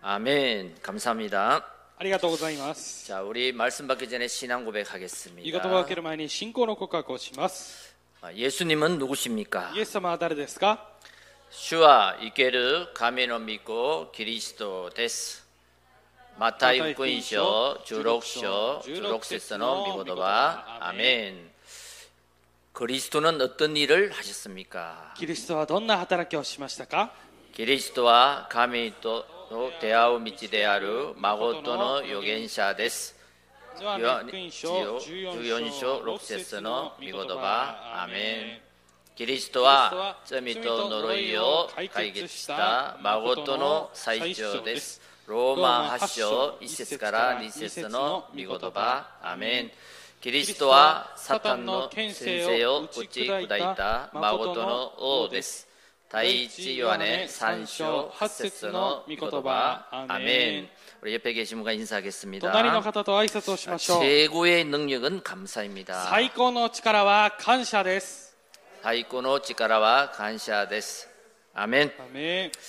아멘. 감사합니다. ありがとうございます。 자, 우리 말씀 받기 전에 신앙 御言葉を 고백하겠습니다. 受ける前に信仰の告白をします。 예수님은 누구십니까? イエス様は誰ですか？ 주와 이케르 가메노 믿고 그리스도 데스. 마타이福音書 16章 16節の 미고도바. 아멘. 그리스도는 어떤 일을 하셨습니까? キリストはどんな働きをしましたか？ 그리스도와 가메이토 대화의道である誠の預言者です。14章6節の御言葉。アメン。キリストは罪と呪いを解決した誠の最長です。ローマ8章1節から2節の御言葉。アメン。キリストはサタンの権勢を打ち砕いた誠の王です。第一ヨハネ3章8節の御言葉。アメン。우리 옆에 계신 분과 인사하겠습니다. 隣の方と挨拶をしましょう。 최고의 능력은 감사입니다. 最高の力は感謝です。 最高の力は感謝です。 아멘. アメン。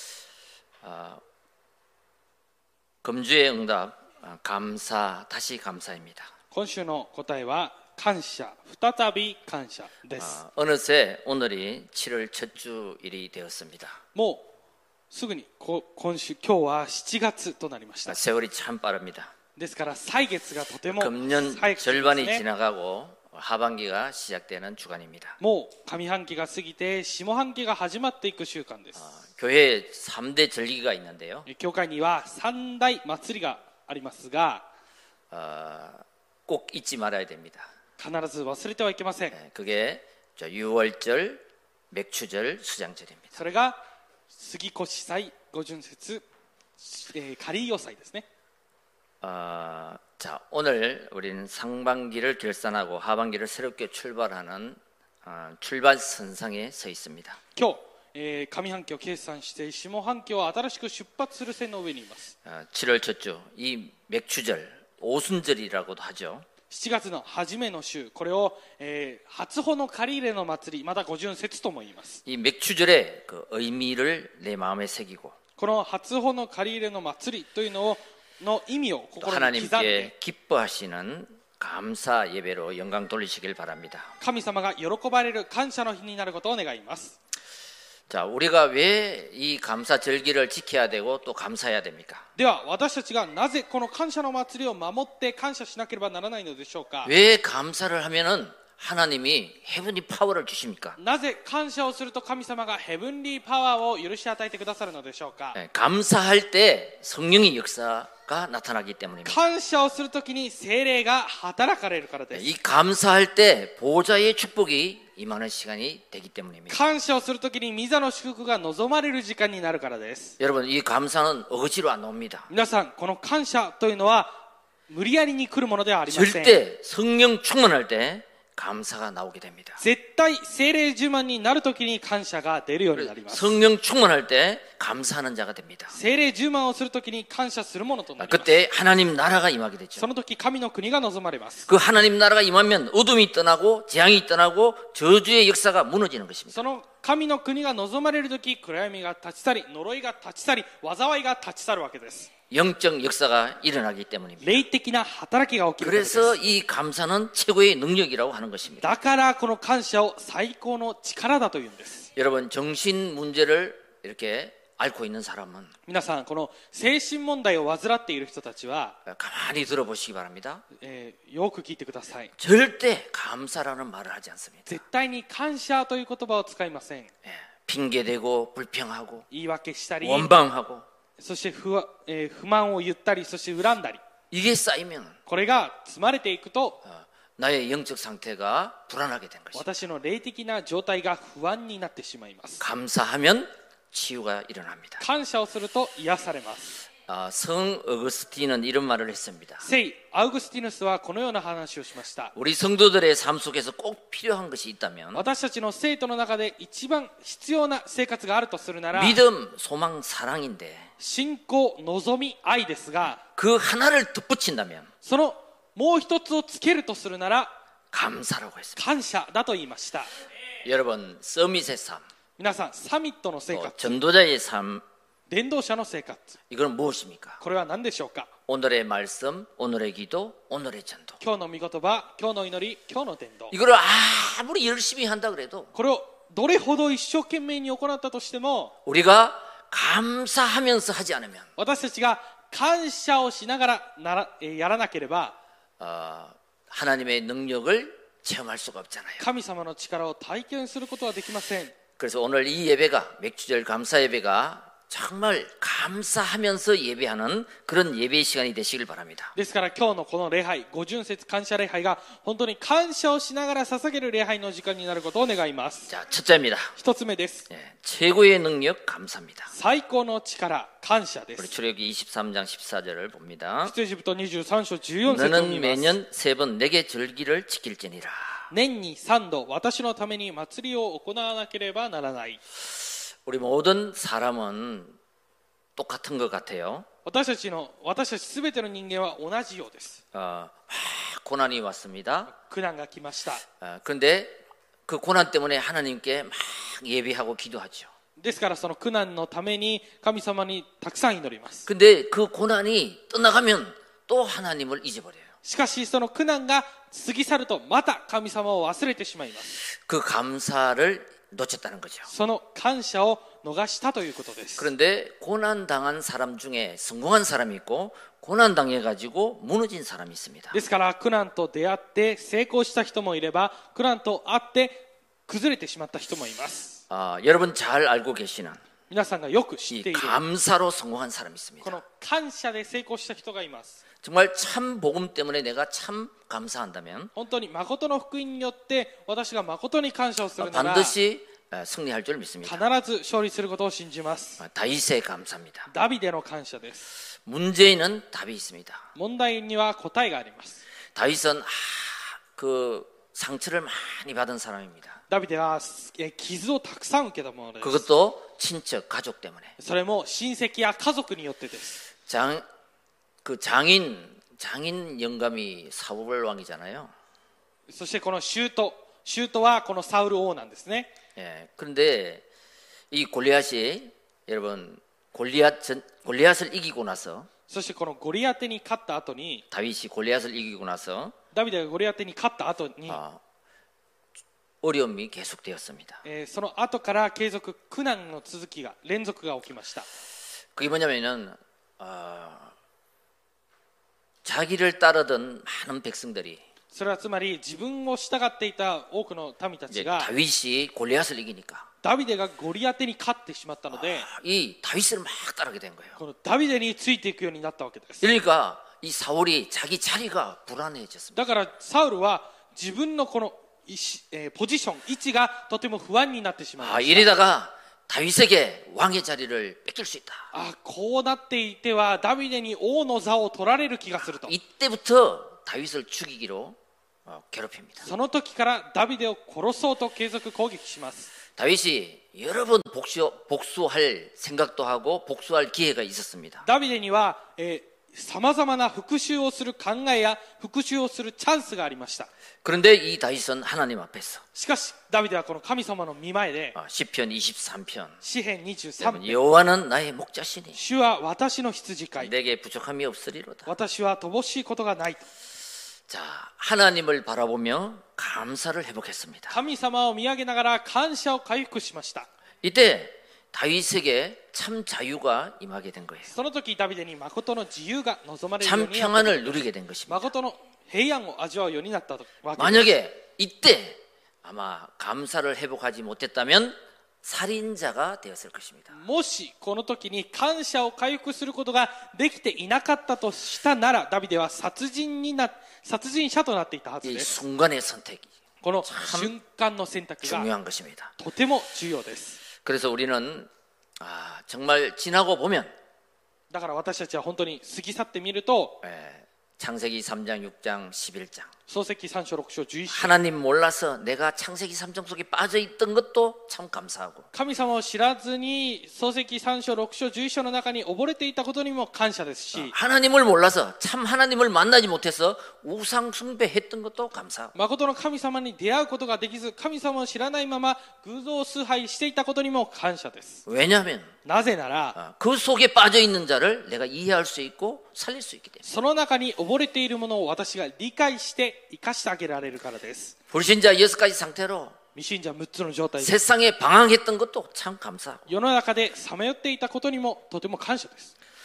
금주의 응답 감사 다시 감사입니다. 今週の答えは感謝、再び感謝です。 어느새 오늘이 7월 첫 주일이 되었습니다. もうすぐに今日は7月となりました。 세월이 참 빠릅니다. ですから歳月がとても 금년 早くてです 절반이 ね。 지나가고 하반기가 시작되는 주간입니다. もう上半期が過ぎて下半期が始まっていく週間です。 교회에 3대 절기가 있는데요. 教会には三大祭りがありますが、 꼭 잊지 말아야 됩니다. 必ず忘れてはいけません。 그게 유월절, 맥추절, 수장절입니다. それが杉越祭、五巡節、仮予祭ですね。 자, 오늘 우리는 상반기를 결산하고 하반기를 새롭게 출발하는 출발선상에 서 있습니다. 今日、上半期を決算して下半期を新しく出発する線の上にいます。 7월 첫 주, 이 맥추절, 오순절이라고도 하죠. 7月の初めの週、これを、初穂の借り入れの祭り、また五巡節とも言います。 이 맥추절의 그 의미를 내 마음에 새기고 この初穂の借り入れの祭りというのの意味を 또 心に刻んで、 하나님께 기뻐하시는 감사 예배로 영광 돌리시길 바랍니다. 神様が喜ばれる感謝の日になることを願います。 자, 우리가 왜 이 감사 절기를 지켜야 되고 또 감사해야 됩니까? では私たちがなぜこの感謝の祭りを守って感謝しなければならないのでしょうか。 왜 감사를 하면은 하나님이 헤븐리 파워를 주십니까? なぜ感謝をすると神様がヘブンリーパワーを許し与えてくださるのでしょうか。 감사할 때 성령의 역사가 나타나기 때문입니다. 感謝をするときに聖霊が働かれるからです。 이 감사할 때 보좌의 축복이 임하는 시간이 되기 때문입니다. 感謝をするときに御座の祝福が望まれる時間になるからです。 여러분, 이 감사는 억지로 안 옵니다. 皆さん、この感謝というのは無理やりに来るものではありません。 절대 성령 충만할 때 감사가 나오게 됩니다. 絶対聖霊充満になるときに感謝が出るようになります。 성령 충만할 때 감사하는 자가 됩니다. 聖霊充満をするときに感謝するものとなります。 그때 하나님 나라가 임하게 되죠. その時神の国が望まれます。 그 하나님 나라가 임하면 어둠이 떠나고 재앙이 떠나고 저주의 역사가 무너지는 것입니다. その神の国が望まれる時、暗闇が立ち去り、呪いが立ち去り、災いが立ち去るわけです。 영적 역사가 일어나기 때문입니다. 霊的な働きが起きるからです。 그래서 이 감사는 최고의 능력이라고 하는 것입니다. だからこの感謝を最高の力だというんです。 여러분, 정신 문제를 이렇게 앓고 있는 사람은 皆さん、この精神問題を患っている人たちは、 가만히 들어보시기 바랍니다. よく聞いてください。 절대 감사라는 말을 하지 않습니다. 絶対に感謝という言葉を使いません。 핑계대고 불평하고 言い訳したり、 원방하고 そして不満を言ったり、そして恨んだり、 이게 쌓이면 これが積まれていくと、 나의 영적 상태가 불안하게 된 것입니다. 私の霊的な状態が不安になってしまいます。 감사하면 치유가 일어납니다. 感謝をすると癒されます。 성 어거스틴은 이런 말을 했습니다. 聖アウグスティヌスはこのような話をしました。 우리 성도들의 삶 속에서 꼭 필요한 것이 있다면 私たちの生徒の中で一番必要な生活があるとするなら、 믿음, 소망, 사랑인데 信仰、望み、愛ですが、 그 하나를 덧붙인다면 そのもう一つをつけるとするなら 감사라고 했습니다. 感謝だと言いました。 여러분, 서밋의 삶, 皆さん、サミットの生 또 活、 전도자의 삶 伝道者の生活 이건 무엇입니까? これは何でしょうか 오늘의 말씀, 오늘의 기도, 오늘의 전도. 今日の御言葉今日の祈り今日の伝道 이거를 아무리 열심히 한다 그래도 これをどれほど一生懸命に行ったとしても 우리가 감사하면서 하지 않으면 私たちが感謝をしながらやらなければ 하나님의 능력을 체험할 수가 없잖아요. 神様の力を体験することはできません 그래서 오늘 이 예배가 맥주절 감사 예배가 정말 감사하면서 예배하는 그런 예배 시간이 되시길 바랍니다. ですから今日のこの礼拝五巡節感謝礼拝が本当に感謝をしながら捧げる礼拝の時間になることを願います 자, 첫째입니다. 一つ目です 최고의 능력 감사입니다. 最高の力感謝で 우리 す 출애굽기 23장 14절을 봅니다. 出エジプト23章14節を 너는 見ます 매년 3번 내게 절기를 지킬지니라. 年に3度私のために祭りを行わなければならない 우리 모든 사람은 똑같은 것 같아요. 私たち全ての人間は同じようです 고난이 왔습니다. 苦難が来ました 그런데 그 고난 때문에 하나님께 막 예배하고 기도하죠. ですからその苦難のために神様にたくさん祈ります 근데 그 고난이 떠나가면 또 하나님을 잊어버려요. しかしその苦難が過ぎ去るとまた神様を忘れてしまいます 그 감사를 놓쳤다는 거죠. その感謝を逃したということです 그런데 고난 당한 사람 중에 성공한 사람이 있고 고난 당해 가지고 무너진 사람이 있습니다. ですから苦難と出会って成功した人もいれば苦難と会って崩れてしまった人もいます 여러분 잘 알고 계시는 皆さんがよく知っ 이 ている 감사로 성공한 사람이 こ 있습니다. の感謝で成功した人がいます 정말 참 복음 때문에 내가 참 감사한다면 本当に誠の福音によって私が誠に感謝をするなら 반드시 승리할 줄 必 믿습니다. ず勝利することを信じます 다윗의 감사입니다. ダビデの感謝です 문제는 답이 있습니다. 問題には答えがあります 다윗은 그 상처를 많이 받은 사람입니다. ダビデは傷をたくさん受けたものです 그것도 친척 가족 때문에. それも親戚や家族によってです 장인 영감이 사울 왕이잖아요. そしてこの舅はこのサウル王なんですね 예. 그런데 이 골리앗이 여러분 골리앗을 이기고 나서 そしてこのゴリアテに勝った後に 다윗이 골리앗을 이기고 나서 ダビデがゴリアテに勝った後に 어려움이 계속되었습니다. その後から継続苦難の続きが連続が起きました 그게 뭐냐면은 자기를 따르던 많은 백성들이 それはつまり自分を従っていた多くの民た 이제 ちが 다윗이 골리앗을 이기니까 ダビデがゴリアテに勝ってしまったので 이 다윗을 막 따르게 된 거예요. このダビデについていくようになったわけです 그러니까 이 사울이 자기 자리가 불안해졌습니다. だからサウルは自分のこのポジション位置がとても不安になってしまいました 이러다가 다윗에게 왕의 자리를 뺏길 수 있다. こうなっていてはダビデに王の座を取られる気がすると 이때부터 다윗을 죽이기로 괴롭힙니다. その時からダビデを殺そうと継続攻撃します 다윗이 여러 번 복수할 생각도 하고 복수할 기회가 있었습니다. ダビデにはさまざまな復讐をする考えや復讐をするチャンスがありました 그런데 이 다윗은 하나님 앞에서 しかしダビデはこの神様の御前で 시편 23편 詩編23編 여호와는 나의 목자시니 主は私の羊飼い 내게 부족함이 없으리로다. 私は乏しいことがないと 자, 하나님을 바라보며 감사를 회복했습니다. 神様を見上げながら感謝を回復しました 이때 다윗에게 참 자유가 임하게 된 거예요. その時ダビデに誠の自由が望まれるよ 참 うになった 평안을 누리게 된 것입니다. 誠の平安を味わうようになったわけです 만약에 이때 아마 감사를 회복하지 못했다면 살인자가 되었을 것입니다. もしこの時に感謝を回復することができていなかったとしたならダビデは殺人者となっていたはず 이 です 순간의 선택이 この瞬間の選択が 중요한 것입니다. とても重要です 그래서 우리는 정말 지나고 보면 だから私たちは本当に過ぎ去ってみると 창세기 3장, 6장, 11장 創世記3章6章11章 하나님 몰라서 내가 창세기 3장 속에 빠져 있던 것도 참 감사하고 神様を知らずに創世記3章6章11章の中に溺れていたことにも感謝ですし 하나님을 몰라서 참 하나님을 만나지 못해서 우상 숭배했던 것도 감사하고 誠の神様に出会うことができず神様を知らないまま偶像崇拝していたことにも感謝です 왜냐하면 なぜなら 그 속에 빠져 있는 자를 내가 이해할 수 있고 살릴 수 있기 때문에 その中に溺れているものを私が理解して生かしてあげられるからです 불신자 6가지 상태로 未信者6つの状態で 세상에 방황했던 것도 참 감사하고 世の中でさまよっていたことにもとても感謝です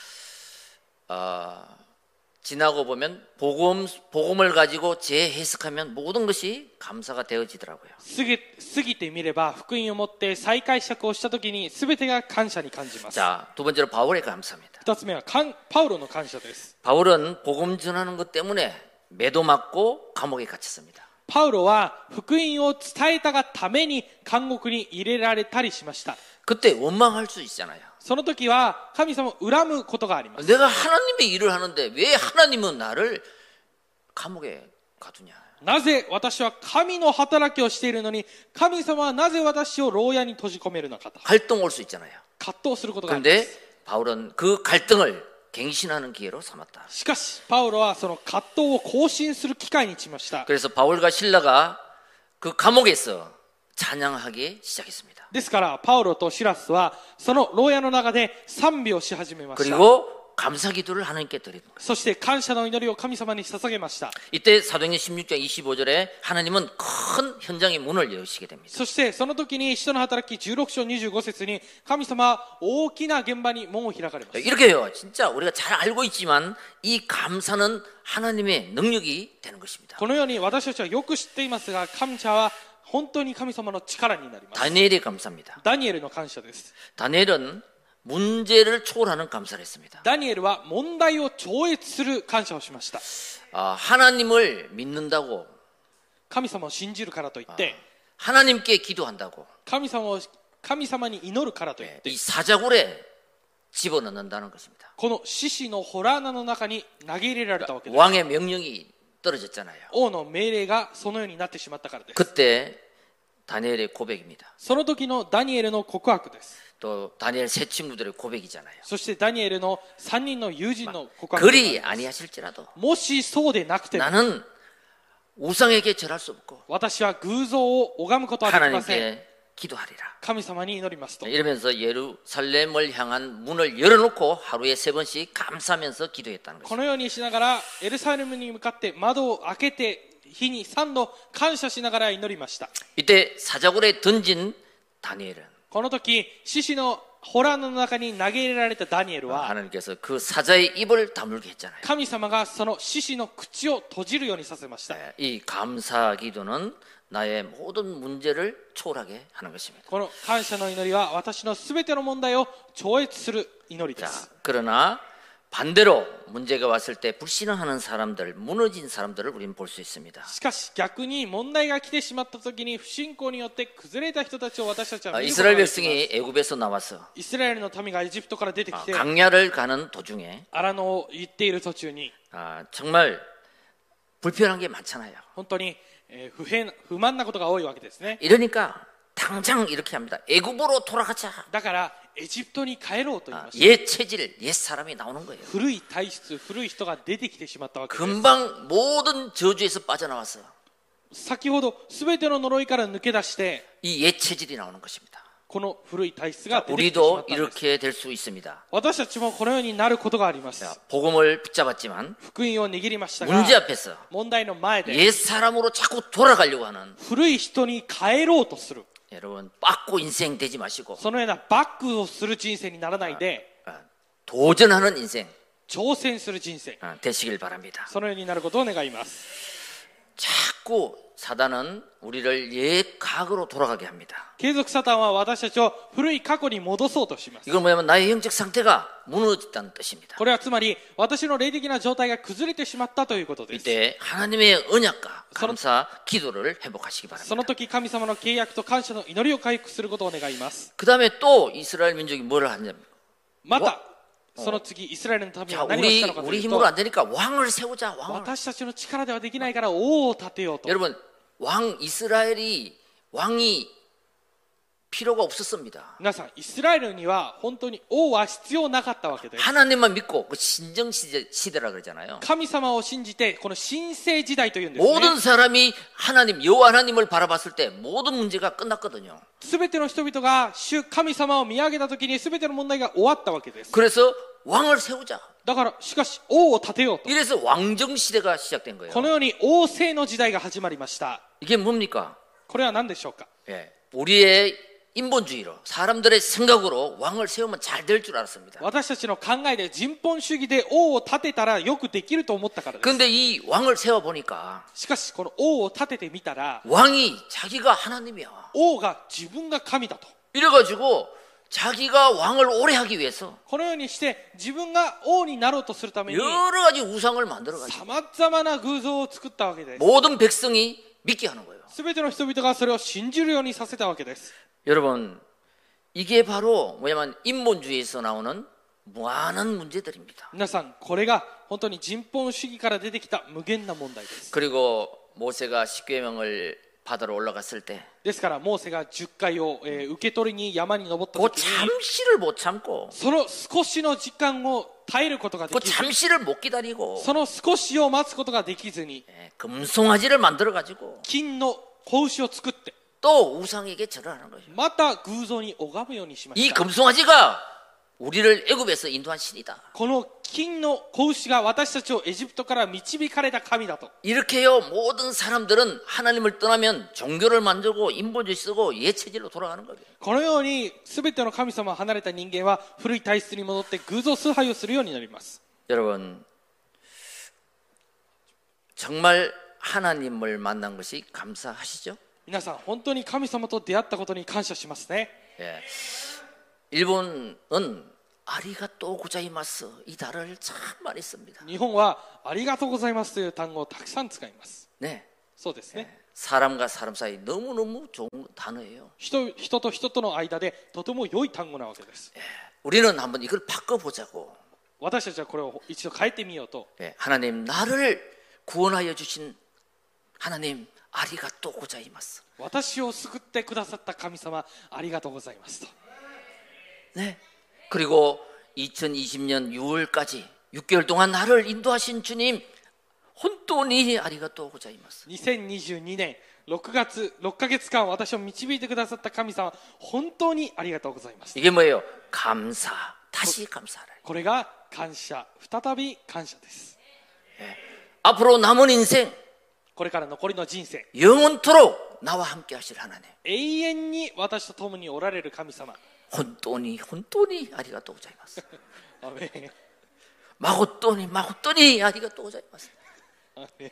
지나고 보면 복음을 가지고 재해석하면 모든 것이 감사가 되어지더라고요. 過ぎてみれば福音を持って再解釈をしたときに全てが感謝に感じます 자, 두 번째로 바울의 감사입니다. 2つ目はパウロの感謝です 바울은 복음 전하는 것 때문에 매도 맞고 감옥에 갇혔습니다. パウロは福音を伝えたがために監獄に入れられたりしました 그때 원망할 수 있잖아요. その時は神様を恨むことがあります 내가 하나님의 일을 하는데 왜 하나님은 나를 감옥에 가두냐. なぜ私は神の働きをしているのに神様はなぜ私を牢屋に閉じ込めるのかと 갈등 올 수 있잖아요. 葛藤することがありま 그런데 す 바울은 그 갈등을 갱신하는 기회로 삼았다. しかしパウロはその葛藤を更新する機会にしました 그래서 바울과 실라가 그 감옥에서 찬양하기 시작했습니다. ですからパウロとシラスはその牢屋の中で賛美をし始めました 그리고 감사 기도를 하나님께 드리는 거예요. そして感謝の祈りを神様に捧げました 이때 사도행전 16장 25절에 하나님은 큰 현장의 문을 여시게 됩니다. そしてその時に使徒の働き16章25節に神様は大きな現場に門を開かれます 이렇게요. 진짜 우리가 잘 알고 있지만 이 감사는 하나님의 능력이 되는 것입니다. このように私たちはよく知っていますが感謝は本当に神様の力になります 다니엘의 감사입니다. ダニエルの感謝です 다니엘은 문제를 초월하는 감사를 했습니다. ダニエルは問題を超越する感謝をしました 하나님을 믿는다고 神様を信じるからといって 하나님께 기도한다고 神様に祈るからといって 이 사자굴에 집어넣는다는 것입니다. この獅子の洞穴の中に投げ入れられたわけです 왕의 명령이 떨어졌잖아요. 王の命令がそのようになってしまったからです 그때 다니엘의 고백입니다. その時のダニエルの告白です 또 다니엘 세 친구들의 고백이잖아요. そしてダニエルの3人の友人の告白 그리 아니하실지라도 もしそうでなくても 나는 우상에게 절할 수 없고 私は偶像を拝むことはできません 하나님께 기도하리라. 神様に祈りますと 이러면서 예루살렘을 향한 문을 열어놓고 하루에 3번씩 감사하면서 기도했다는 こ 것입니다. のようにしながらエルサレムに向かって窓を開けて日に3度感謝しながら祈りました 이때 사자굴에 던진 다니엘은 この時獅子の洞穴の中に投げ入れられたダニエルは 하나님께서 그 사자의 입을 다물게 했잖아요. 神様がその獅子の口を閉じるようにさせました 이 감사 기도는 나의 모든 문제를 초월하게 하는 것입니다. この感謝の祈りは私のすべての問題を超越する祈りで 자, す 그러나 반대로 문제가 왔을 때 불신앙하는 사람들, 무너진 사람들을 우리는 볼 수 있습니다. しかし逆に問題が来てしまった時に不信仰によって崩れた人たちを私たちは見ることが 이스라엘 できます 백성이 애굽에서 나와서 イスラエルの民がエジプトから出てきて 강야를 가는 도중에 荒野を行っている途中に 정말 불편한 게 많잖아요. 本当に不満なことが多いわけですね 이러니까 당장 이렇게 합니다. 애굽으로 돌아가자. だからエジプトに帰ろうと言いました 옛 체질, 옛 사람이 나오는 거예요. 古い体質古い人が出てきてしまったわけです 금방 모든 저주에서 빠져나와서 先ほど全ての呪いから抜け出して 이 옛 체질이 나오는 것입니다. この古い体質が出てきてしまっ 우리도 たんです 이렇게 될 수 있습니다. 私たちもこのようになることがあります 복음을 붙잡았지만 福音を握りましたが 문제 앞에서 問題の前で 옛 사람으로 자꾸 돌아가려고 하는 古い人に帰ろうとする 여러분 빠꾸 인생 되지 마시고 そのようなバックをする人生にならないで 도전하는 인생 挑戦する人生 되시길 바랍니다. そのようになることを願います 자꾸 사단은 우리를 옛 과거로 돌아가게 합니다. 継続サタンは私たちを古い過去に戻そうとします 이건 뭐냐면 나의 영적 상태가 무너졌다는 뜻입니다. これはつまり私の霊的な状態が崩れてしまったということです 이때 하나님의 언약과 감사 기도를 회복하시기 そ 바랍니다. の時神様の契約と感謝の祈りを回復することを願います 그 다음에 또 이스라엘 민족이 뭐를 하냐면 またその次イスラエルの民 자, は何をしたのかと 우리 いうと 힘으로 안 되니까 왕을 세우자. 왕을. 私たちの力ではできないから王を立てようと 여러분, 왕 이스라엘이 왕이 필요가 없었습니다. 皆さんイスラエルには本当に王は必要なかったわけです 하나님만 믿고 그 신정 시대라 그러잖아요. 神様を信じてこの新生時代というんですね 모든 사람이 하나님 여호와 하나님을 바라봤을 때 모든 문제가 끝났거든요. すべての人々が主神様を見上げたときにすべての問題が終わったわけです 그래서 왕을 세우자. だからしかし王を立てようと 이래서 왕정 시대가 시작된 거예요. このように王政の時代が始まりました 이게 뭡니까? これは何でしょうか 예, 우리의 인본주의로 사람들의 생각으로 왕을 세우면 잘 될 줄 알았습니다. 私たちの考えで人本主義で王を立てたらよくできると思ったからです 그런데 이 왕을 세워 보니까 しかしこの王を立ててみたら 왕이 자기가 하나님이야. 王が自分が神だと 이래가지고 자기가 왕을 오래 하기 위해서 このようにして自分が王になろうとするために 여러 가지 우상을 만들어가지고 さまざまな偶像を作ったわけです 모든 백성이 믿게 하는 거예요. すべての人々がそれを信じるようにさせたわけです 여러분, 이게 바로 뭐냐면 인본주의에서 나오는 무한한 문제들입니다. 皆さんこれが本当に人本主義から出てきた無限な問題です 그리고 모세가 십계명을 받으러 올라갔을 때 ですからモーセが10回を、受け取りに山に登った 그 時に 잠시를 못 참고 その少しの時間を耐えることがで 그 きず 잠시를 못 기다리고 その少しを待つことができずに 금송아지를 만들어가지고 金の子牛を作って 또 우상에게 절하는 거예요. また偶像に拝むようにしま 이 した 금송아지가 우리를 애굽에서 인도한 신이다. この金の子牛が私たちをエジプトから導かれた神だと 이렇게요 모든 사람들은 하나님을 떠나면 종교를 만들고 인본주의 쓰고 예체질로 돌아가는 거예요. このように全ての神様を離れた人間は古い体質に戻って偶像崇拝をするようになります 여러분 정말 하나님을 만난 것이 감사하시죠? 皆さん本当に神様と出会ったことに感謝しますね 예. 일본은 아리가또 고자이마스 이 단어를 참 많이 씁니다. 日本はありがとうございますという単語をたくさん使います 네. そうですね 사람과 사람 사이 너무너무 좋은 단어예요. 人と人との間でとても良い単語なわけです 우리는 한번 이걸 바꿔보자고. 私たちはこれを一度変えてみようと 예. 하나님 나를 구원하여 주신 하나님 아리가또 고자이마스. 私を救ってくださった神様ありがとうございますと 네. 그리고 2020년 6월까지 6개월 동안 나를 인도하신 주님 혼돈이 아리가또 고자이마스. 2022年6ヶ月間私を導いてくださった神様本当にありがとうございます 이게 뭐예요? 감사. 다시 감사하라. これが感謝再び感謝です 앞으로 남은 인생 これから残りの人生 영원토록 나와 함께 하실 하나님. 永遠に私と共におられる神様 혼돈이 아리가또 고자이마스. アメン 마고돈이 아리가또 고자이마스. アメン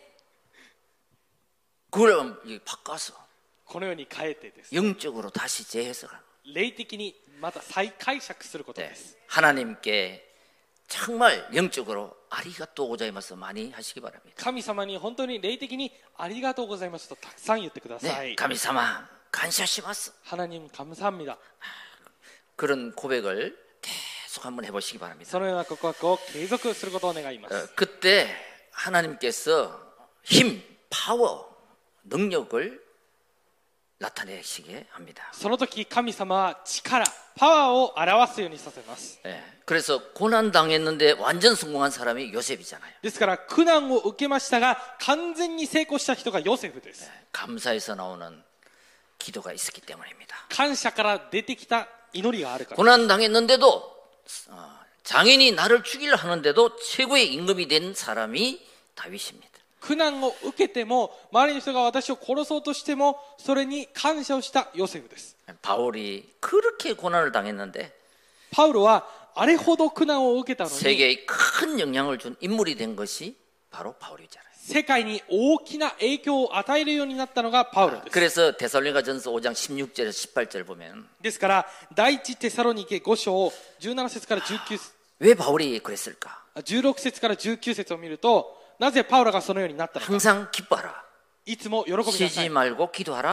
그걸 바꿔서 このように変えてです 영적으로 다시 재해석하는. 霊的にまた再解釈すること 네. です 하나님께 정말 영적으로 아리가또 고자이마스 많이 하시기 바랍니다. 神様に本当に霊的にありがとうございますとたくさん言ってくださ 네, い 감사마 감사시마스. 하나님 감사합니다 그런 고백을 계속 한번 해보시기 바랍니다. そのような告白を継続することを願います 그때 하나님께서 힘, 파워, 능력을 나타내시게 합니다. その時神様は力パワーを表すようにさせます 네, 그래서 고난 당했는데 완전 성공한 사람이 요셉이잖아요. ですから苦難を受けましたが完全に成功した人がヨセフです 감사에서 나오는 기도가 있었기 때문입니다. 感謝から出てきた祈りがあるから 고난 당했는데도 장인이 나를 죽이려 하는데도 최고의 임금이 된 사람이 다윗입니다. 苦難を受けても周りの人が私を殺そうとしてもそれに感謝をしたヨセフです 바울이 그렇게 고난을 당했는데 パウロはあれほど苦難を受けたのに 세계에 큰 영향을 준 인물이 된 것이 바로 바울이잖아요. 世界に大きな影響を与えるようになったのがパウロです 그래서 데살로니가전서 5장 16절에서 18절 보면 ですから第一テサロニケ5章17節から19節 왜 바울이 그랬을까? 16節から19節を見るとなぜパウロがそのようになったのか 항상 기뻐하라. いつも喜びなさ 쉬지 い 말고 기도하라.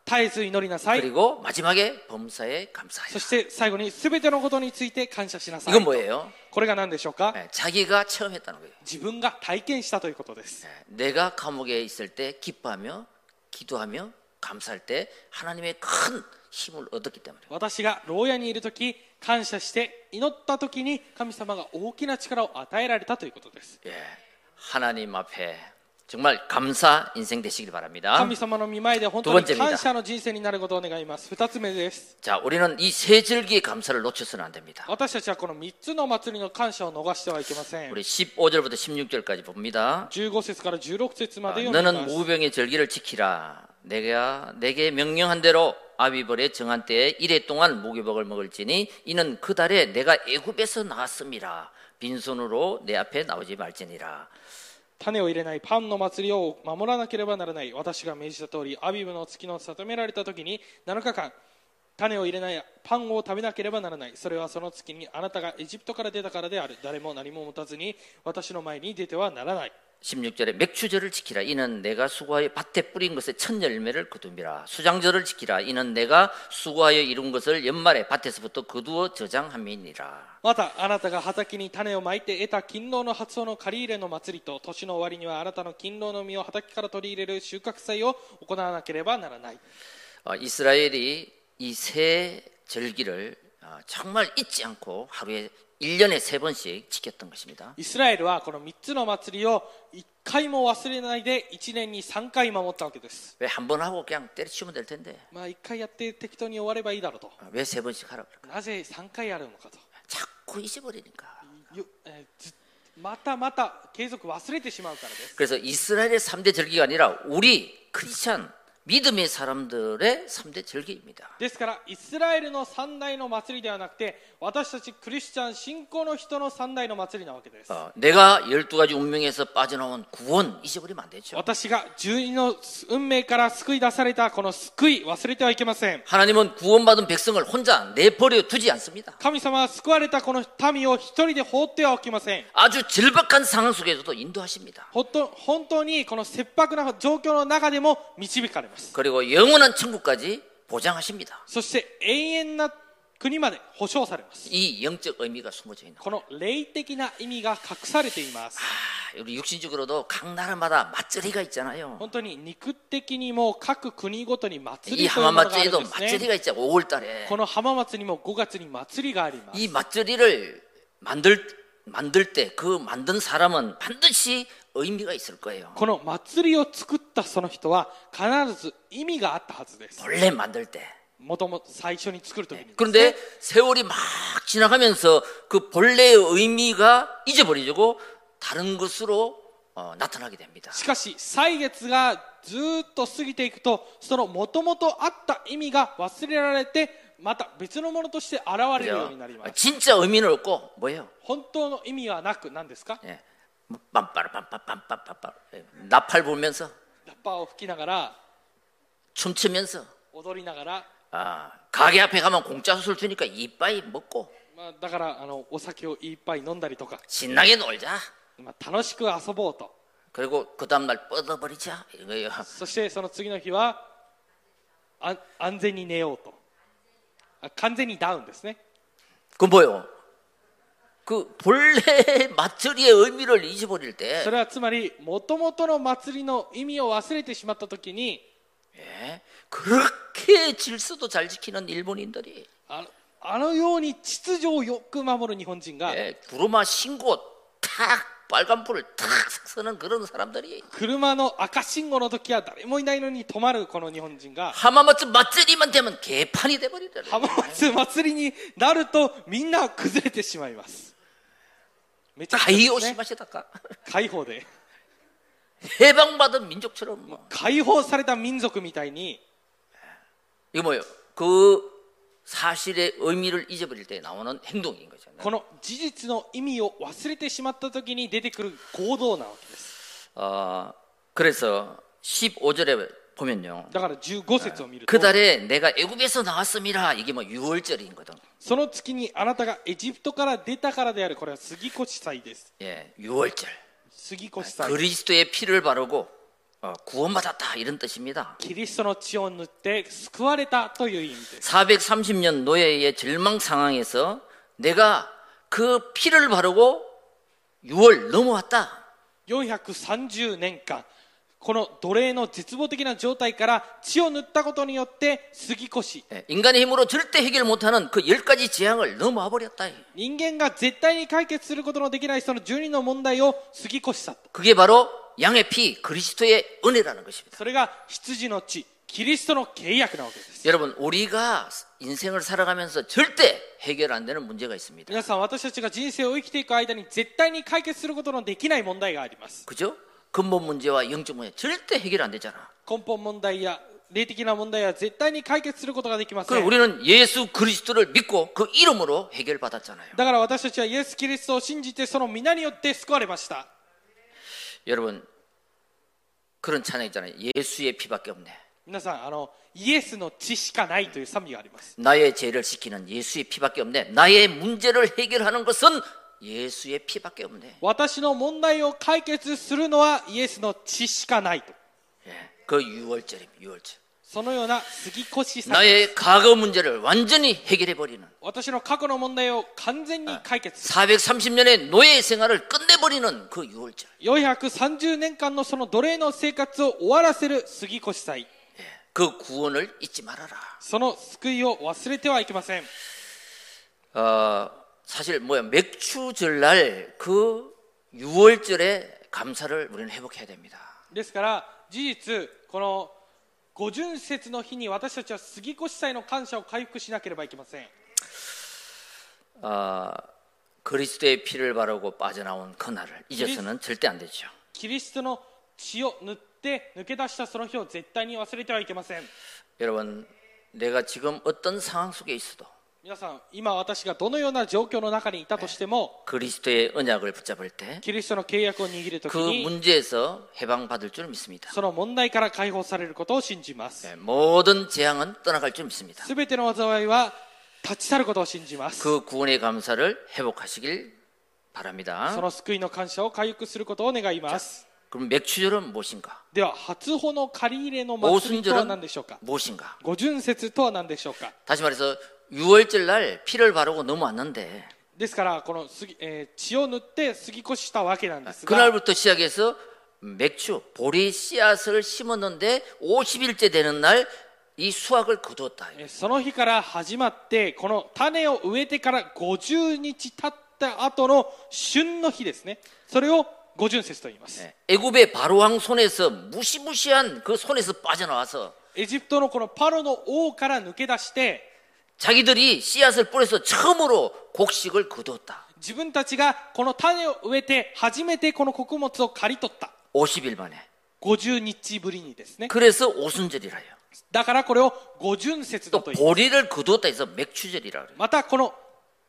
絶えず祈りなさい。 그리고 마지막에 범사에 そ 감사하라. して最後に全てのことについて感謝しなさい。 이건 뭐예요? これが何でしょうか？ 자기가 체험했다는 거예요. 自分が体験したということです。 내가 감옥에 있을 때 기뻐하며 기도하며 감사할 때 하나님의 큰 힘을 얻었기 때문에. 私が牢屋にいるとき、感謝して祈ったときに神様が大きな力を与えられたということです。 예, 하나님 앞에 정말 감사 인생 되시길 바랍니다. 神様の御前で本当に感謝の人生になることを願います。2つ目です。 자, 우리는 이 세 절기의 감사를 놓쳐서는 안 됩니다. 私たちはこの3つの祭りの感謝を逃してはいけません。 우리 15절부터 16절까지 봅니다. 15節から16節まで読みま 너는 す。 무병의 절기를 지키라. 내가 내게 명령한 대로 아비벌의 정한 때에 이래 동안 무교복을 먹을지니 이는 그 달에 내가 애굽에서 나왔음이라. 빈손으로 내 앞에 나오지 말지니라. 種を入れないパンの祭りを守らなければならない。私が命じた通り、アビブの月の定められた時に7日間、種を入れないパンを食べなければならない。それはその月にあなたがエジプトから出たからである。誰も何も持たずに私の前に出てはならない。 16절에 맥추절을 지키라. 이는 내가 수고하여 밭에 뿌린 것의 첫 열매를 거두미라. 수장절을 지키라. 이는 내가 수고하여 이룬 것을 연말에 밭에서부터 거두어 저장함이니라. またあなたが畑に種をまいて得た勤労の発音の借り入れの祭りと、年の終わりにはあなたの勤労の実を畑から取り入れる収穫祭を行わなければならない。 이스라엘이 이 세 절기를 정말 잊지 않고 하루에 1년에 3번씩 지켰던 것입니다. イスラエルはこの3つの祭りを1回も忘れないで1年に3回守ったわけです。 왜 한 번 하고 그냥 때려치우면 될 텐데 まあ1回やって適当に終わればいいだろうと。 왜 3번씩 하라고 그럴까? なぜ3回やるのかと。 자꾸 잊어버리니까. またまた継続忘れてしまうからです。 그래서 이스라엘의 3대 절기가 아니라 우리 크리스찬 믿음의 사람들의 3대 절기입니다. ですからイスラエルの3大の祭りではなくて、私たちクリスチャン信仰の人の3大の祭りなわけです。 내가 12가지 운명에서 빠져나온 구원 잊어버리면 안 되죠. 私が12の運命から救い出されたこの救い、忘れてはいけません。 하나님은 구원받은 백성을 혼자 내버려 두지 않습니다. 神様は救われたこの民を一人で放ってはおきません。 아주 절박한 상황 속에서도 인도하십니다. 本当にこの切迫な状況の中でも導かれます。 그리고 영원한 천국까지 보장하십니다. そして永遠な国まで保証されます。 이 영적 의미가 숨어져 있는 この霊的な意味が隠されています。 우리 육신적으로도 각 나라마다 맛절이가 있잖아요. 本当に肉的にも各国ごとに祭 이 りというものがあるん 하마맛절이도 ですね。 맛절이가 있잖아요. 5월달에 この浜祭りにも5月に祭りがあります。 이 맛절이를 만들 때 그 만든 사람은 반드시 의미가 있을 거예요. この祭りを作ったその人は必ず意味があったはずです。 원래 만들 때. もともと最初に作るときに。 그런데 세월이 막 지나가면서 그 본래의 의미가 잊어버리고 다른 것으로 나타나게 됩니다. しかし歳月がずっと過ぎていくと、そのもともとあった意味が忘れられて、また別のものとして現れるようになります。 진짜 의미는 없고 뭐예요? 本当の意味はなく何ですか？ 예. 빰빠라빰빰빰빰빰빰 나팔 불면서 ラッパーを吹きながら 춤추면서 踊りながら、 가게 앞에 가면 공짜 술 주니까 이빠이 먹고 だからお酒をいっぱい飲んだりとか、 신나게 놀자. 楽しく遊ぼうと。 그리고 그 다음날 뻗어버리자 이거예요. そしてその次の日は安全に寝ようと。完全にダウンですね。 그 뭐요? 그 본래 맛절이의 의미를 잊어버릴 때 それはつまり元々の祭りの意味を忘れてしまったときに、 예, 그렇게 질서도 잘 지키는 일본인들이 あのように秩序をよく守る日本人が、 예, 구루마 신고 탁 빨간불을 탁 서는 그런 사람들이 車の赤信号の時は誰もいないのに止まるこの日本人が、 하마마츠 맛절이만 되면 개판이 돼버리더래요. 浜松祭りになるとみんな崩れてしまいます。めちゃくちゃですね。 가이오시마시다까 解放で 해방받은 민족처럼 뭐. 解放された民族みたいに、 이거 뭐예요? 그 사실의 의미를 잊어버릴 때 나오는 행동인 거죠. この事実の意味を忘れてしまった時に出てくる行動なわけです。 그래서 15절에 보면요. だから15節を見ると、 그 달에 내가 애굽에서 나왔음이라. 이게 뭐 6월절이거든. その月にあなたがエジプトから出たからである。これは杉越祭です。 예, 6월절. 杉越祭。 그리스도의 피를 바르고 구원받았다 이런 뜻입니다. キリストの血を塗って救われたという意味です。 430년 노예의 절망 상황에서 내가 그 피를 바르고 6월 넘어왔다. 430年間この奴隷の絶望的な状態から血を塗ったことによって過ぎ越し、 인간의 힘으로 절대 해결 못하는 그 10가지 재앙을 넘어와 버렸다. 人間が絶対に解決することのできないその12の問題を過ぎ越し去った。 그게 바로 양의 피 그리스도의 은혜라는 것입니다. それが羊の血、キリストの契約なわけです。 여러분 우리가 인생을 살아가면서 절대 해결 안 되는 문제가 있습니다. 皆さん、私たちが人生を生きていく間に絶対に解決することのできない問題があります。 그죠? 근본 문제와 영적 문제 절대 해결 안 되잖아. 根本問題や霊的な問題は絶対に解決することができません。 그럼 우리는 예수 그리스도를 믿고 그 이름으로 해결받았잖아요. だから私たちはイエス・キリストを信じてその皆によって救われました。 여러분 그런 찬양 있잖아요. 예수의 피밖에 없네. 皆さん、イエスの血しかないという賛美があります。 나의 죄를 씻기는 예수의 피밖에 없네. 나의 문제를 해결하는 것은 예수의 피밖에 없네. 私の問題を解決するのはイエスの血しかないと。 그 6월절입니다. 6월절. そのような過ぎ越しさ。 나의 과거 문제를 완전히 해결해 버리는. 私の過去の問題を完全に解決する。 430년의 노예 생활을 끝내버리는 그 6월절. 430年間のその奴隷の生活を終わらせる過ぎ越し祭。 그 구원을 잊지 말아라. その救いを忘れてはいけません。 사실 맥주절날 그 6월절에 감사를 우리는 회복해야 됩니다. ですから事実この五巡節の日に私たちは過ぎ越し祭の感謝を回復しなければいけません。 그리스도의 피를 바르고 빠져나온 그날을 잊어서는 절대 안 되죠. キリストの血を塗って抜け出したその日を絶対に忘れてはいけません。 여러분 내가 지금 어떤 상황 속에 있어도 皆さん、今私がどのような状況の中にいたとしても、 그리스도의 언약을 붙잡을 때 キリストの契約を握るとき 그 に 문제에서 해방받을 줄 믿습니다. その問題から解放されることを信じます。 모든 재앙은 떠나갈 줄 믿습니다. すべての災いは立ち去ることを信じます。 그 구원의 감사를 회복하시길 바랍니다. その救いの感謝を回復することを願います。 그럼 맥추절은 무엇인가? では、初穂の借り入れの祭りとは何でしょうか。 무엇인가? 五巡節とは何でしょうか。 다시 말해서 6월절 날 피를 바르고 넘어왔는데 ですからこの血を塗って過ぎ越したわけなんですが、 그날부터 시작해서 맥주 보리 씨앗을 심었는데 50일째 되는 날 이 수확을 거두었다. その日から始まってこの種を植えてから50日経った後の旬の日ですね。それを五巡節と言います。 애굽의 바로왕 손에서 무시무시한 그 손에서 빠져나와서 エジプトのこのパロの王から抜け出して 자기들이 씨앗을 뿌려서 처음으로 곡식을 거두었다. 自分たちがこの種を植えて初めてこの穀物を刈り取った。 50일 만에. 50日ぶりにですね。 그래서 오순절이라요. だからこれを五巡節だ 또 と言います。 보리를 거두었다 해서 맥추절이라 그래요. またこの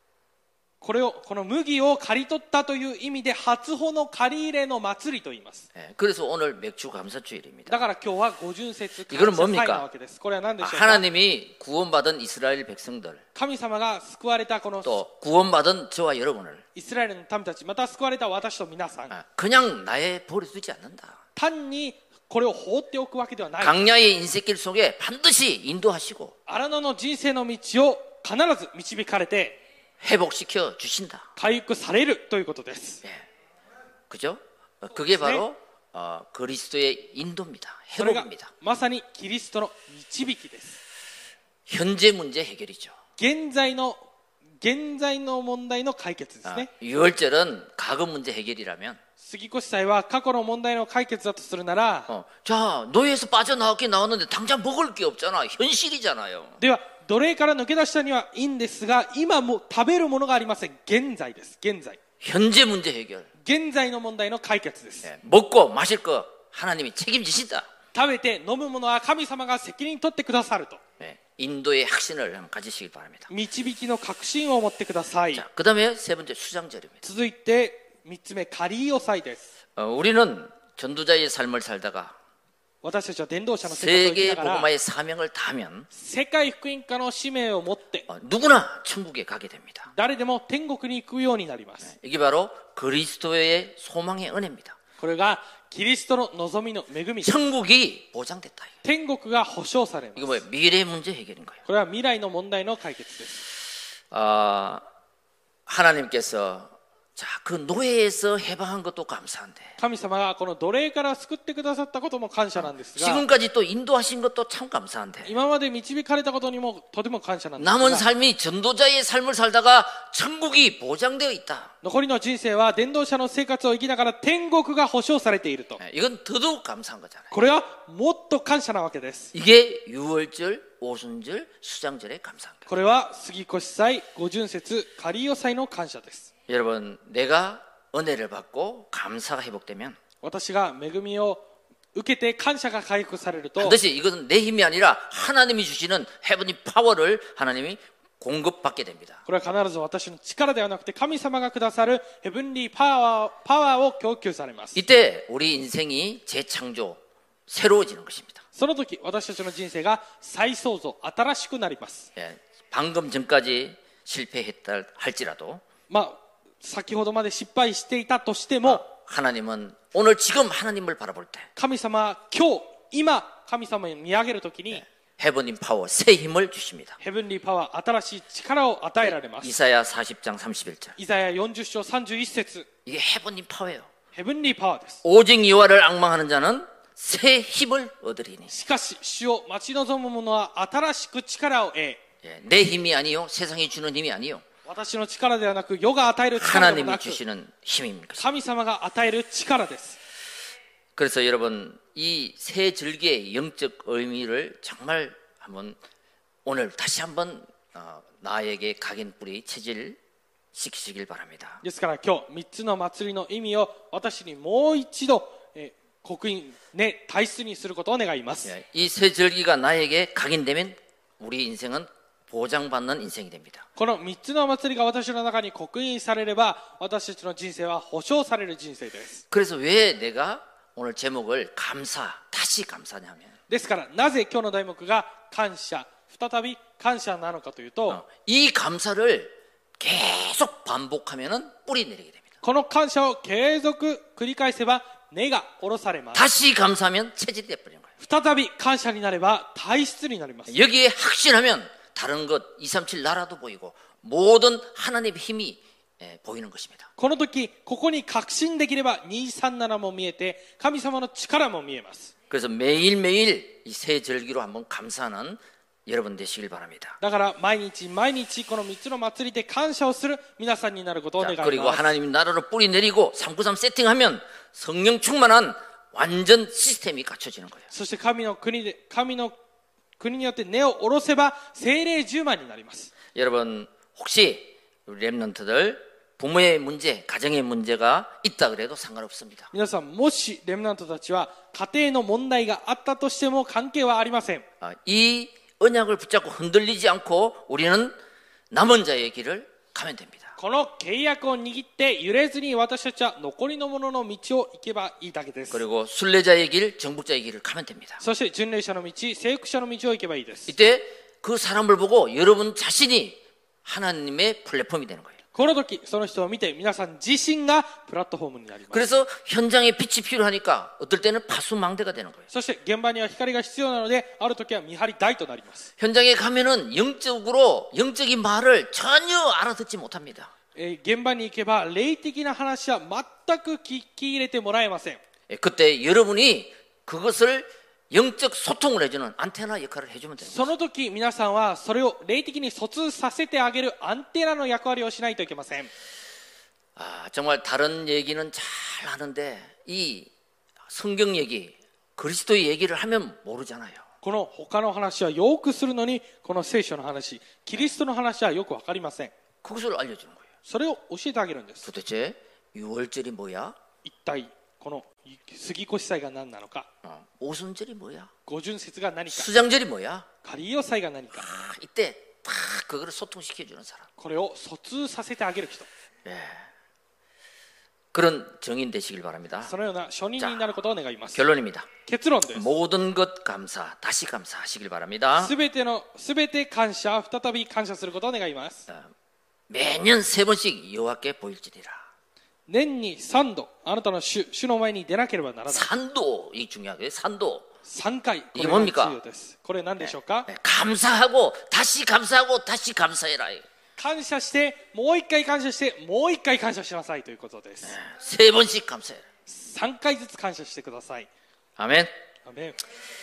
麦を刈り取ったという意味で初穂の借り入れの祭りと言います。 그래서 오늘 맥주 감사주일입니다. だから今日は五巡節感 이거는 謝祭 뭡니까? なわけです。これは何でしょうか。 하나님이 구원받은 이스라엘 백성들 神様が救われたこの 또 구원받은 저와 여러분을 イスラエルの民たち、また救われた私と皆さん、 그냥 나에 버려두지 않는다. 単にこれを放っておくわけではない。 강야의 인생길 속에 반드시 인도하시고 荒野の人生の道を必ず導かれて 회복시켜 주신다. 回復されるということです。 그죠? 그게 바로 그리스도의 인도입니다. それが 회복입니다. まさにキリストの導きです。 현재 문제 해결이죠. 現在の問題の解決ですね。 6월절은 과거 문제 해결이라면 過ぎ越し祭は過去の問題の解決だとするなら、 자 노예에서 빠져나왔긴 나왔는데 당장 먹을 게 없잖아. 현실이잖아요. では奴隷から抜け出したにはいいんですが、今もう食べるものがありません。現在です。現在 현재 문제 해결. 現在の問題の解決です。 먹고 마실 거 하나님이 책임지신다. 食べて飲むものは神様が責任取ってくださると。 인도의 확신을 한번 가지시길 바랍니다. 導きの確信を持ってください。 자, 그다음에 세 번째 수장절입니다. 続いて3つ目、仮押さえです。 우리는 전도자의 삶을 살다가 私たちは伝道者の生活を生き 세계 ながら 복음화의 사명을 다하면 世界福音家の使命を持って 누구나 천국에 가게 됩니다. 誰でも天国に行くようになります。 이게 바로 그리스도의 소망의 은혜입니다. これがキリストの望みの恵みです。 천국이 보장됐다. 天国が保証されます。 이거 뭐예요? 미래 문제 해결인 거예요. これは未来の問題の解決です。 하나님께서 자, 그 노예에서 해방한 것도 감사한데 神様がこの奴隷から救ってくださったことも感謝なんですが、 지금까지 또 인도하신 것도 참 감사한데 今まで導かれたことにもとても感謝なんですが、 남은 삶이 전도자의 삶을 살다가 천국이 보장되어 있다. 残りの人生は伝道者の生活を生きながら天国が保証されていると、 이건 더더욱 감사한 거잖아요. これはもっと感謝なわけです。 이게 유월절, 오순절, 수장절의 감사한 거예요. これは杉越祭、五巡節、カリオ祭の感謝です。 여러분, 내가 은혜를 받고 감사가 회복되면 私が恵みを受けて感謝が回復されると、 반드시 이것은 내 힘이 아니라 하나님이 주시는 헤븐리 파워를 하나님이 공급받게 됩니다. これは必ず私の力ではなくて神様がくださるヘブンリーパワーを供給されます。 이때 우리 인생이 재창조, 새로워지는 것입니다. その時私たちの人生が再創造、新しくなります。 방금 전까지 실패했다 할지라도 先ほどまで失敗していたとしても、 하나님은 오늘 지금 하나님을 바라볼 때 神様は今神様に見上げるときに 헤븐리 파워, 새 힘을 주십니다. ヘブンリーパワー、新しい力を与えられます。 이사야 40장 31절. イザヤ40章31節、 이게 헤븐리 파워예요. ヘブンリーパワーです。 오직 여호와를 앙망하는 자는 새 힘을 얻으리니. しかし主を待ち望む者は新しく力を得、 내 힘이 아니요, 세상이 주는 힘이 아니요, 私の力ではなく世が与える力でもな 하나님이 く 주시는 힘입니다. 神様が与える力です。 그래서 여러분, 이 새 절기의 영적 의미를 정말 한번 오늘 다시 한번 나에게 각인뿌리 체질시키시길 바랍니다. ですから今日3つの祭りの意味を私にもう一度刻印ね体質にすることを願います。 이 새 절기가 나에게 각인되면 우리 인생은 보장받는 인생이 됩니다. この3つの祭りが私の中に刻印されれば私たちの人生は保証される人生です。 그래서 왜 내가 오늘 제목을 감사, 다시 감사냐면 ですからなぜ今日の題目が感謝、再び感謝なのかというと、 이 감사를 계속 반복하면 뿌리 내리게 됩니다. この感謝を継続繰り返せば根が下ろされます。 다시 감사하면 체질이 돼버리는 거예요. 再び感謝になれば体質になります。 여기에 확신하면 다른 것 237 나라도 보이고 모든 하나님의 힘이 보이는 것입니다. この時ここに確信できれば237も見えて神様の力も見えます。 그래서 매일매일 이 새 절기로 한번 감사하는 여러분 되시길 바랍니다. だから毎日毎日この3つの祭りで感謝をする皆さんになることを願います。 그리고 하나님 나라로 뿌리 내리고 393 세팅하면 성령 충만한 완전 시스템이 갖춰지는 거예요. そして神の国によって根を下ろせば聖霊10万になります。 여러분 혹시 우리 렘넌트들 부모의 문제, 가정의 문제가 있다 그래도 상관없습니다. 皆さんもしレムナントたちは家庭の問題があったとしても関係はありません。 이 언약을 붙잡고 흔들리지 않고 우리는 남은 자의 길을 가면 됩니다. この契約を握って揺れずに私たちは残りの者の道を行けばいいだけです。 그리고 순례자의 길, 정복자의 길을 가면 됩니다. そして巡礼者の道、征服者の道を行けばいいです。 이때 그 사람을 보고 여러분 자신이 하나님의 플랫폼이 되는 거예요. この時その人を見て皆さん自身がプラットフォームになります。 그래서 현장에 빛이 필요하니까 어떨 때는 파수망대가 되는 거예요. そして現場には光が必要なのである時は見張り台となります。 현장에 가면은 영적인 말을 전혀 알아듣지 못합니다. 現場に行けば霊的な話は全く聞き入れてもらえません。 그때 여러분이 그것을 영적 소통을 해주는 안테나 역할을 해주면 됩니다. その時皆さんはそれを霊的に疎通させてあげるアンテナの役割をしないといけません。 정말 다른 얘기는 잘 하는데 이 성경 얘기, 그리스도의 얘기를 하면 모르잖아요. この他の話はよくするのにこの聖書の話、キリストの話はよくわかりません。 그것을 알려주는 거예요. それを教えてあげるんです。 도대체 유월절이 뭐야? 一体この杉越祭が何なのか、 오순절이 뭐야? 五巡節が何か、 수장절이 뭐야? カリオ祭が何か、 이때 다 그거를 소통시켜주는 사람. これを疎通させてあげる人、 그런 정인 되시길 바랍니다. そのような初任になることを願います。 결론입니다. 結論です。 모든 것 감사, 다시 감사하시길 바랍니다. すべて感謝、再び感謝することを願います。 매년 3번씩 여호와께 보일지니라. 年に3度あなたの主の前に出なければならない。 산도 이 중요하게 산도. 3回これ 이게 が 뭡니까? 重要です。これ何でしょうか？ 감사하고 다시 감사하고 다시 감사해라. 感謝してもう一回感謝してもう一回感謝しなさいということです。 세 번씩 감사해라. 3回ずつ感謝してください。 아멘. アメン。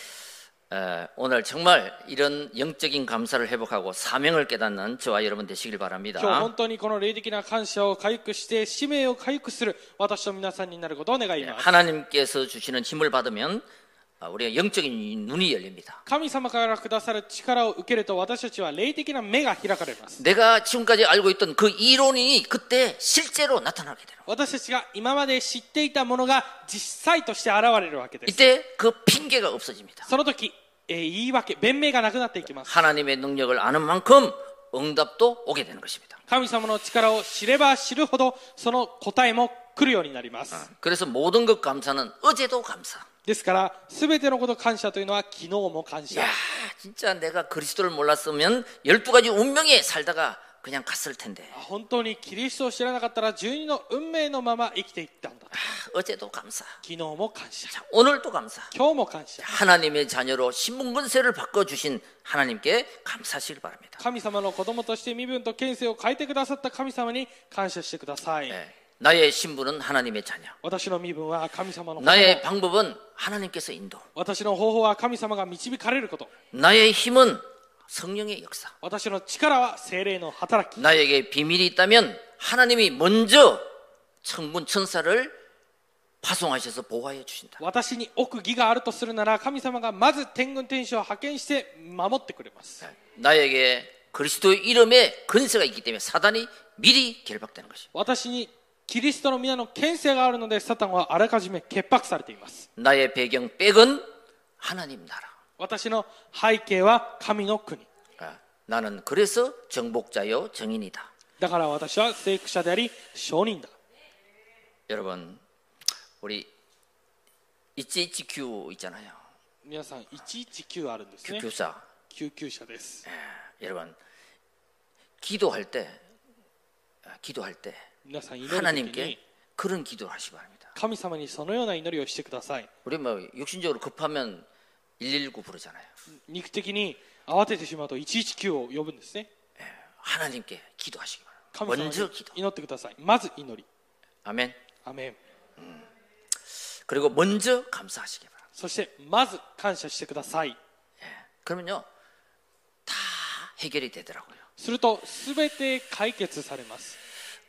오늘 정말 이런 영적인 감사를 회복하고 사명을 깨닫는 저와 여러분 되시길 今日 바랍니다. 本当にこの霊的な感謝を回復して使命を回復する私と皆さんになることを願います。 하나님께서 주시는 힘을 받으면 우리가 영적인 눈이 열립니다. 神様からくださる力を受けると私たちは霊的な目が開かれます。 내가 지금까지 알고 있던 그 이론이 그때 실제로 나타나게 되는 거예요. 私たちが今まで知っていたものが実際として現れるわけです。 이때 그 핑계가 없어집니다. その時、言い訳、弁明がなくなっていきます。 하나님의 능력을 아는 만큼 응답도 오게 되는 것입니다. 神様の力を知れば知るほどその答えも来るようになります。 그래서 모든 것 감사는 어제도 감사. ですから全てのこと感謝というのは昨日も感謝。 야, 진짜 내가 그리스도를 몰랐으면 12가지 운명에 살다가 그냥 갔을 텐데. 本当にキリストを知らなかったら12の運命のまま生きていったんだ。 어제도 감사. 昨日も感謝。 오늘도 감사. 今日も感謝。 하나님의 자녀로 신분권세를 바꿔주신 하나님께 감사하시길 바랍니다. 神様の子供として身分と権勢を変えてくださった神様に感謝してください。 나의 신분은 하나님의 자녀. 私の身分は神様の子供。 나의 방법은 하나님께서 인도. 私の方法は神様が導かれること。 나의 힘은 성령의 역사. 私の力は聖霊の働き。 나에게 비밀이 있다면 하나님이 먼저 천군 천사를 파송하셔서 보호하여 주신다. 私に奥義があるとするなら神様がまず天軍天使を派遣して守ってくれます。 나에게 그리스도의 이름에 근세가 있기 때문에 사단이 미리 결박되는 것입니다. 私にキリストの皆の権勢があるのでサタンはあらかじめ潔白されています。 나의 배경 백은 하나님 나라. 私の背景は神の国。 나는 그래서 정복자요 정인이다. だから私は聖句者であり証人だ。 여러분 우리 119 있잖아요. 皆さん119あるんですね。 救急車. 救急車です。 여러분 기도할 때 皆さん祈る時に 하나님께 그런 기도를 하시기 바랍니다. 神様にそのような祈りをしてください。 우리 뭐 육신적으로 급하면 119 부르잖아요. 肉的に慌ててしまうと119を呼ぶんですね。 하나님께 기도하시기 바랍니다. 神様に 먼저 기도. 祈ってください。まず祈り。 아멘. アメン。 그리고 먼저 감사하시기 바랍니다. そしてまず感謝してください。 그러면요 다 해결이 되더라고요. すると全て解決されます。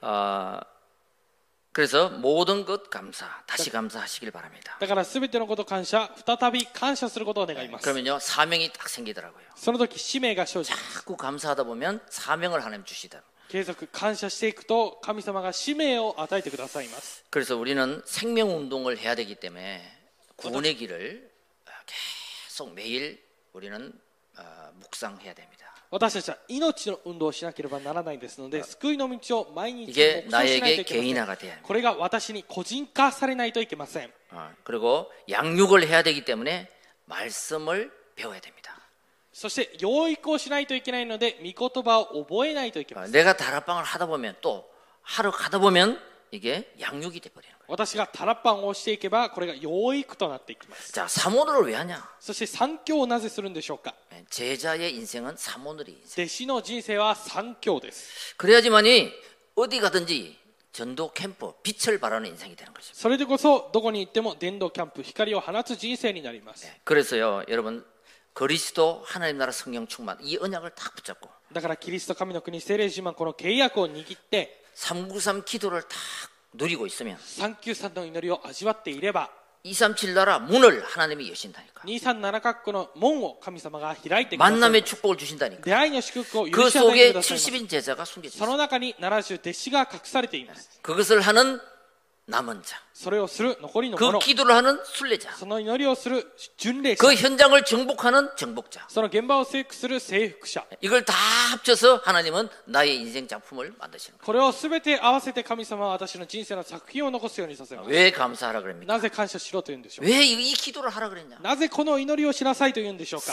그래서 모든 것 감사, 다시 감사하시길 바랍니다. だから全てのこと感謝、再び感謝することを願います。 그러면요 사명이 딱 생기더라고요. その時使命が生じます。 자꾸 감사하다 보면 사명을 하나님 주시더라고요. 継続感謝していくと神様が使命を与えてくださいます。 그래서 우리는 생명 운동을 해야 되기 때문에 구원의 길을 계속 매일 우리는 묵상해야 됩니다. 私たちは命の運動をしなければならないですので、救いの道を毎日 이게 黙想しないと 나에게 いけません。 개인화가 돼야 합니다. これが私に個人化されないといけません。 그리고 양육을 해야 되기 때문에 말씀을 배워야 됩니다. そして養育をしないといけないので御言葉を覚えないといけません。 내가 다락방을 하다 보면 또 하러 가다 보면 이게 양육이 돼 버리는 거예요. 私がタラッパンをしていけばこれが養育となっていきます。 자, 사모노를 왜 하냐? そして三教をなぜするんでしょうか。 제자의 인생은 사모놀이 인생. 弟子の人生は三教です。 그래야지만이 어디 가든지 전도 캠프 빛을 발하는 인생이 되는 것입니다. それでこそどこに行っても伝道キャンプ光を放つ人生になります。 그래서요, 여러분 그리스도 하나님 나라 성령 충만 이 언약을 딱 붙잡고 だからキリスト神の国聖霊自慢この契約を握って 393 기도를 딱 누리고 있으면 393の祈りを味わっていれば 237 나라 문을 하나님이 여신다니까. 237カ国の門を神様が開いてください。 만남의 축복을 주신다니까. 出会いの祝福を 그 許し与えてく 속에 ださいます。 70인 제자가 숨겨져 その 있어요. 中に70弟子が隠されています。 그것을 하는 남은 자. それをする残りの 그 者、 기도를 하는 순례자. その祈りをする巡礼者、 그 현장을 정복하는 정복자. その現場を征服する征服者、 이걸 다 합쳐서 하나님은 나의 인생 작품을 만드시는 거예요. これをすべて合わせて神様は私の人生の作品を残すようにさせます。 왜 감사하라 그럽니까? なぜ感謝しろと言うんでしょう。 왜 이 기도를 하라 그랬냐? なぜこの祈りをしなさいと言うんでしょうか。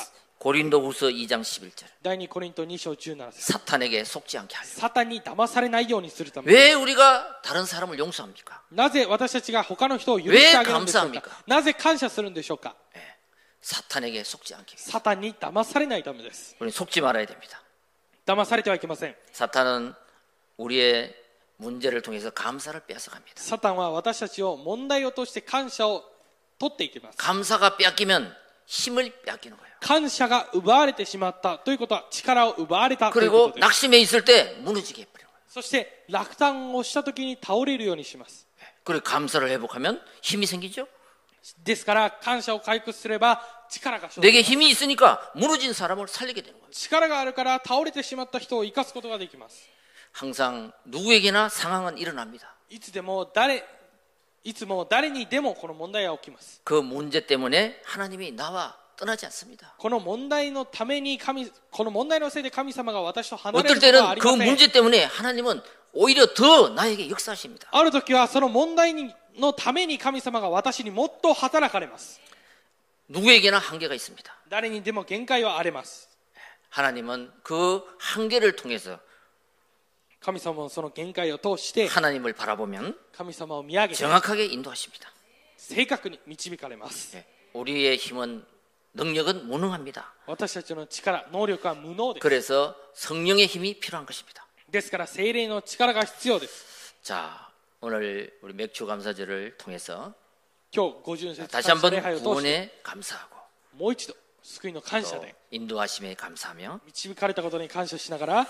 고린도후서 2장 11절. 第2コリント2章17節 사탄에게 속지 않게 하려. サタンに騙されないようにするため 왜 우리가 다른 사람을 용서합니까? なぜ私たちが他の人を許してあげるんでしょう 왜 か 감사합니까? なぜ感謝するんでしょうか 사탄에게 속지 않게. サタンに騙されないためです 우리는 속지 말아야 됩니다. 騙されてはいけません 사탄은 우리의 문제를 통해서 감사를 뺏어갑니다. サタンは私たちを問題を通して感謝を取っていきます 감사가 뺏기면 힘을 뺏기는 거예요. 感謝が奪われてしまったということは力を奪われたというこ 그리고 とです 낙심해 있을 때 무너지게 해버려요. そして落胆をした時に倒れるようにします 그리고 감사를 회복하면 힘이 생기죠. ですから感謝を回復すれば力が生じ 내게 힘이 있으니까 무너진 사람을 살리게 되는 거예요. 力があるから倒れてしまった人を生かすことができます 항상 누구에게나 상황은 일어납니다. いつも誰にでもこの問題が起きます 그 문제 때문에 하나님이 나와 떠나지 않습니다. この問題のためにこの問題のせいで神様が私と離れ 어떨 ることはあ 때는 り 그 ません 문제 때문에 하나님은 오히려 더 나에게 역사하십니다. ある時はその問題のために神様が私にもっと働かれます 누구에게나 한계가 있습니다. 誰にでも限界はあります 하나님은 그 한계를 통해서 神様もその限界を通して 하나님을 바라보면 神様を見上げて 정확하게 인도하십니다. 正確に導かれます 우리의 힘은 능력은 무능합니다. 私たちの力能力は無能です 그래서 성령의 힘이 필요한 것입니다. ですから聖霊の力が必要です 자, 오늘 우리 맥주 감사절을 통해서 今日五巡節 다시 感謝 한번 礼拝を通して 구원에 감사하고 もう一度救いの感謝 또 で 인도하심에 감사하며 導かれたことに感謝しながら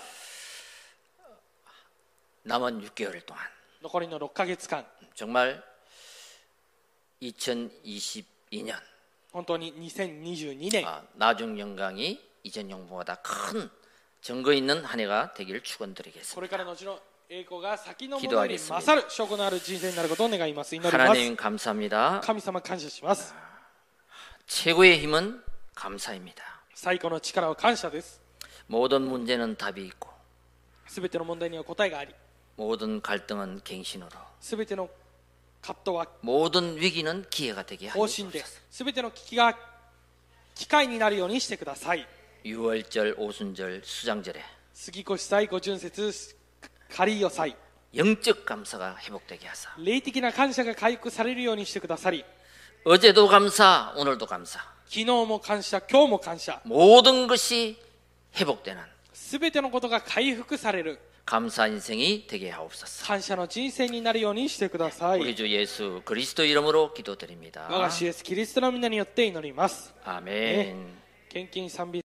남은 6개월 동안 残りの6ヶ月間 정말 2022년 本当に2022年 나중 영광이 이전 영광보다 큰 증거 있는 한 해가 되기를 こ 축원드리겠습니다. れからの後の栄光が先のものより勝る証拠のある人生になることを願います祈ります 하나님 감사합니다. 神様感謝します 최고의 힘은 감사입니다. 最高の力は感謝です 모든 문제는 답이 있고 すべての問題には答えがあり 모든 갈등은 갱신으로 すべての葛藤は 모든 위기는 기회가 되게 方 하여 針で 주옵소서. すべての危機が機会になるようにしてください 유월절, 오순절, 수장절에 杉越祭五巡節カリーヨ祭 영적 감사가 회복되게 하사 霊的な感謝が回復されるようにしてくださり 어제도 감사, 오늘도 감사 昨日も感謝今日も感謝 모든 것이 회복되는 すべてのことが回復される 감사 인생이 되게 하옵소서. 感謝の人生になるようにしてください 우리 주 예수 그리스도 이름으로 기도드립니다. 我が主イエスキリストの皆によって祈ります 아멘. 献金賛美